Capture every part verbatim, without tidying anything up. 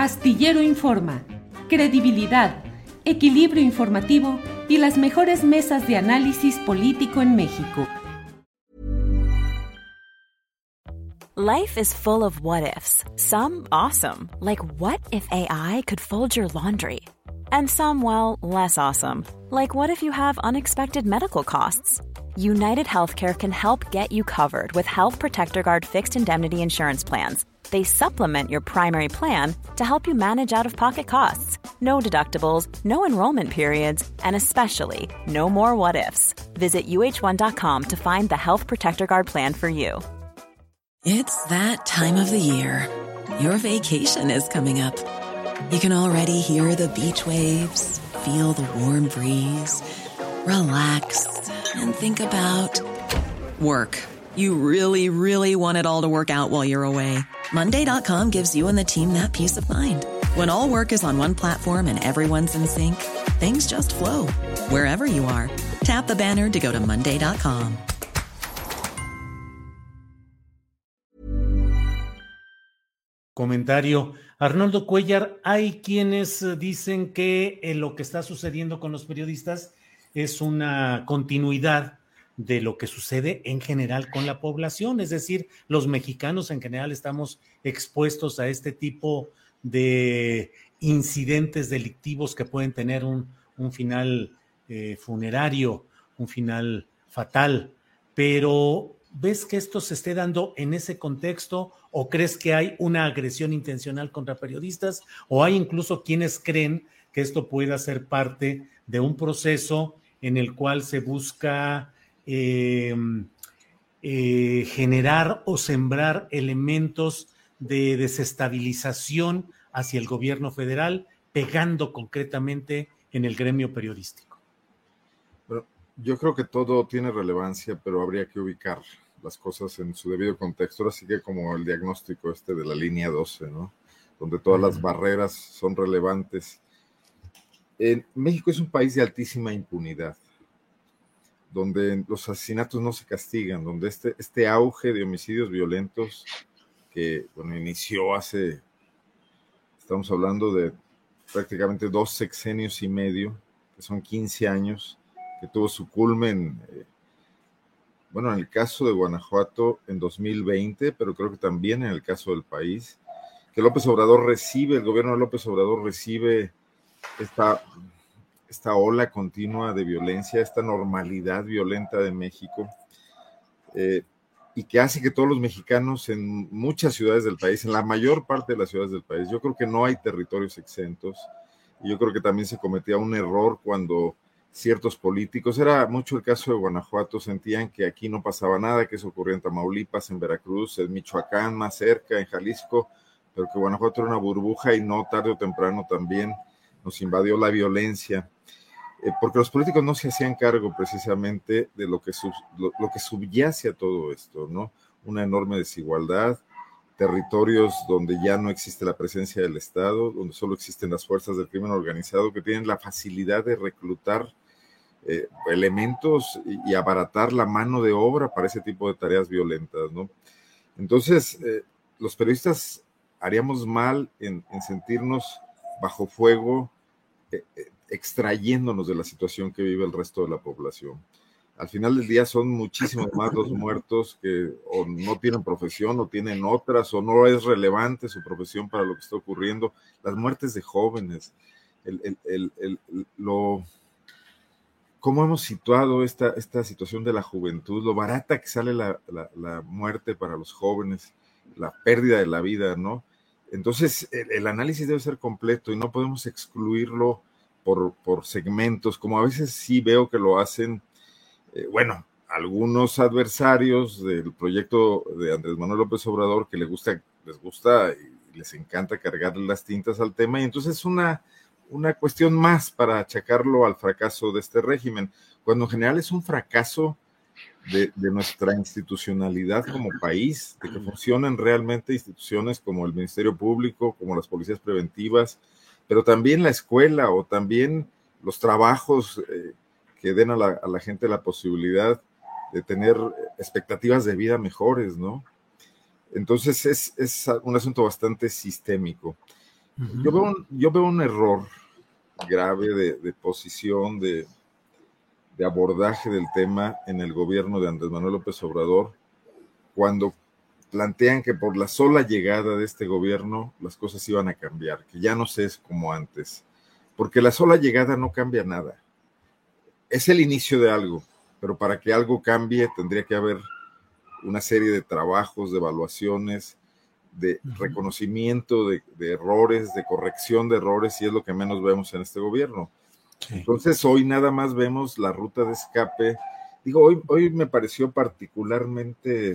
Astillero Informa, credibilidad, equilibrio informativo y las mejores mesas de análisis político en México. Life is full of what-ifs. Some awesome, like what if A I could fold your laundry? And some, well, less awesome, like what if you have unexpected medical costs? United Healthcare can help get you covered with Health Protector Guard fixed indemnity insurance plans. They supplement your primary plan to help you manage out-of-pocket costs. No deductibles, no enrollment periods, and especially no more what-ifs. Visit U H one dot com to find the Health Protector Guard plan for you. It's that time of the year. Your vacation is coming up. You can already hear the beach waves, feel the warm breeze, relax, and think about work. You really, really want it all to work out while you're away. Monday dot com gives you and the team that peace of mind. When all work is on one platform and everyone's in sync, things just flow. Wherever you are, tap the banner to go to Monday dot com. Comentario. Arnoldo Cuellar, hay quienes dicen que eh, lo que está sucediendo con los periodistas es una continuidad de lo que sucede en general con la población, es decir, los mexicanos en general estamos expuestos a este tipo de incidentes delictivos que pueden tener un, un final eh, funerario, un final fatal, pero ¿ves que esto se esté dando en ese contexto o crees que hay una agresión intencional contra periodistas o hay incluso quienes creen que esto pueda ser parte de un proceso en el cual se busca eh, eh, generar o sembrar elementos de desestabilización hacia el gobierno federal, pegando concretamente en el gremio periodístico? Bueno, yo creo que todo tiene relevancia, pero habría que ubicar las cosas en su debido contexto, así que como el diagnóstico este de la línea doce, ¿no? Donde todas las barreras son relevantes. En México es un país de altísima impunidad, donde los asesinatos no se castigan, donde este, este auge de homicidios violentos que, bueno, inició hace, estamos hablando de prácticamente dos sexenios y medio, que son quince años, que tuvo su culmen, eh, bueno, en el caso de Guanajuato en dos mil veinte, pero creo que también en el caso del país, que López Obrador recibe, el gobierno de López Obrador recibe esta, esta ola continua de violencia, esta normalidad violenta de México, eh, y que hace que todos los mexicanos en muchas ciudades del país, en la mayor parte de las ciudades del país, yo creo que no hay territorios exentos, y yo creo que también se cometía un error cuando ciertos políticos, era mucho el caso de Guanajuato, sentían que aquí no pasaba nada, que eso ocurría en Tamaulipas, en Veracruz, en Michoacán, más cerca, en Jalisco, pero que Guanajuato era una burbuja y no tarde o temprano también nos invadió la violencia, eh, porque los políticos no se hacían cargo precisamente de lo que, sub, lo, lo que subyace a todo esto, ¿no? Una enorme desigualdad, territorios donde ya no existe la presencia del Estado, donde solo existen las fuerzas del crimen organizado que tienen la facilidad de reclutar Eh, elementos y, y abaratar la mano de obra para ese tipo de tareas violentas, ¿no? Entonces, eh, los periodistas haríamos mal en, en sentirnos bajo fuego, eh, eh, extrayéndonos de la situación que vive el resto de la población. Al final del día son muchísimos más los muertos que o no tienen profesión o tienen otras o no es relevante su profesión para lo que está ocurriendo. Las muertes de jóvenes, el, el, el, el, el, lo... cómo hemos situado esta, esta situación de la juventud, lo barata que sale la, la, la muerte para los jóvenes, la pérdida de la vida, ¿no? Entonces, el, el análisis debe ser completo y no podemos excluirlo por, por segmentos, como a veces sí veo que lo hacen, eh, bueno, algunos adversarios del proyecto de Andrés Manuel López Obrador que les gusta, les gusta y les encanta cargarle las tintas al tema, y entonces es una... una cuestión más para achacarlo al fracaso de este régimen, cuando en general es un fracaso de, de nuestra institucionalidad como país, de que funcionen realmente instituciones como el Ministerio Público, como las policías preventivas, pero también la escuela o también los trabajos eh, que den a la, a la gente la posibilidad de tener expectativas de vida mejores, ¿no? Entonces es, es un asunto bastante sistémico. Uh-huh. Yo veo un, yo veo un error grave de, de posición, de, de abordaje del tema en el gobierno de Andrés Manuel López Obrador, cuando plantean que por la sola llegada de este gobierno las cosas iban a cambiar, que ya no se es como antes, porque la sola llegada no cambia nada. Es el inicio de algo, pero para que algo cambie tendría que haber una serie de trabajos, de evaluaciones, de reconocimiento de, de errores, de corrección de errores, y es lo que menos vemos en este gobierno. Sí. Entonces hoy nada más vemos la ruta de escape. Digo, hoy, hoy me pareció particularmente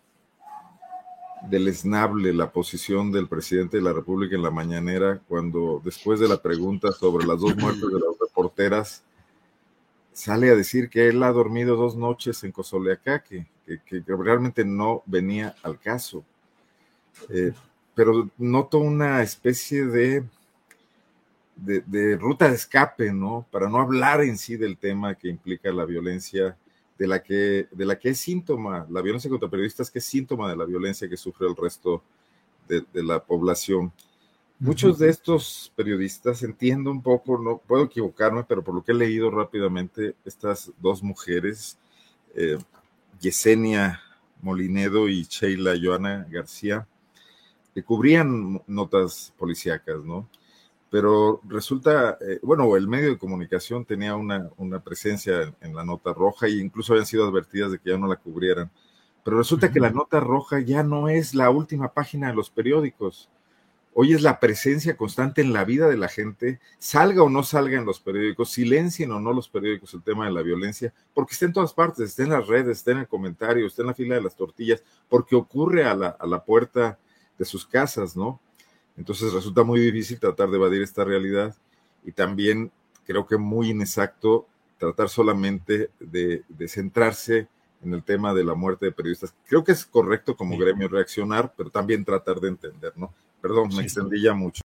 deleznable la posición del presidente de la República en la mañanera, cuando después de la pregunta sobre las dos muertes de las reporteras, sale a decir que él ha dormido dos noches en Cozoleacaque, que, que, que realmente no venía al caso. Eh, pero noto una especie de, de, de ruta de escape, ¿no? Para no hablar en sí del tema que implica la violencia, de la que, de la que es síntoma, la violencia contra periodistas, que es síntoma de la violencia que sufre el resto de, de la población. Muchos de estos periodistas, entiendo un poco, no puedo equivocarme, pero por lo que he leído rápidamente, estas dos mujeres, eh, Yesenia Molinedo y Sheila Joana García, que cubrían notas policíacas, ¿no? Pero resulta, eh, bueno, el medio de comunicación tenía una, una presencia en, en la nota roja, e incluso habían sido advertidas de que ya no la cubrieran. Pero resulta uh-huh. que la nota roja ya no es la última página de los periódicos. Hoy es la presencia constante en la vida de la gente, salga o no salga en los periódicos, silencien o no los periódicos el tema de la violencia, porque está en todas partes, está en las redes, está en el comentario, está en la fila de las tortillas, porque ocurre a la, a la puerta de sus casas, ¿no? Entonces resulta muy difícil tratar de evadir esta realidad, y también creo que muy inexacto tratar solamente de, de centrarse en el tema de la muerte de periodistas. Creo que es correcto como sí. gremio reaccionar, pero también tratar de entender, ¿no? Perdón, me extendí ya mucho.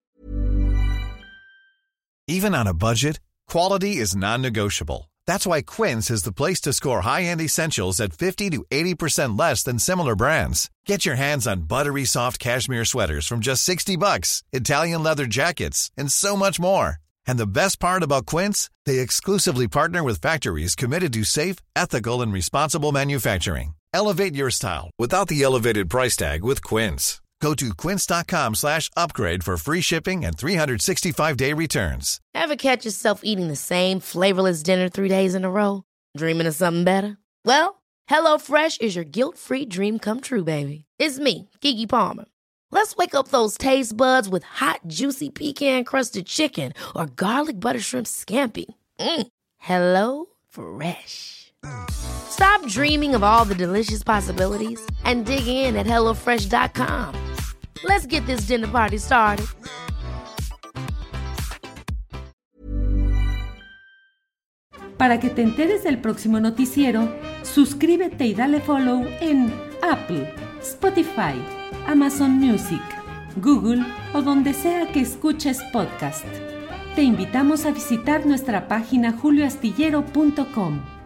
Even on a budget, quality is non-negotiable. That's why Quince is the place to score high-end essentials at fifty to eighty percent less than similar brands. Get your hands on buttery soft cashmere sweaters from just sixty bucks, Italian leather jackets, and so much more. And the best part about Quince, they exclusively partner with factories committed to safe, ethical, and responsible manufacturing. Elevate your style without the elevated price tag with Quince. Go to quince.com slash upgrade for free shipping and three sixty-five day returns. Ever catch yourself eating the same flavorless dinner three days in a row? Dreaming of something better? Well, HelloFresh is your guilt-free dream come true, baby. It's me, Keke Palmer. Let's wake up those taste buds with hot, juicy pecan-crusted chicken or garlic butter shrimp scampi. Mm. Hello Fresh. Stop dreaming of all the delicious possibilities and dig in at hello fresh dot com. Let's get this dinner party started. Para que te enteres del próximo noticiero, suscríbete y dale follow en Apple, Spotify, Amazon Music, Google o donde sea que escuches podcast. Te invitamos a visitar nuestra página julio astillero punto com.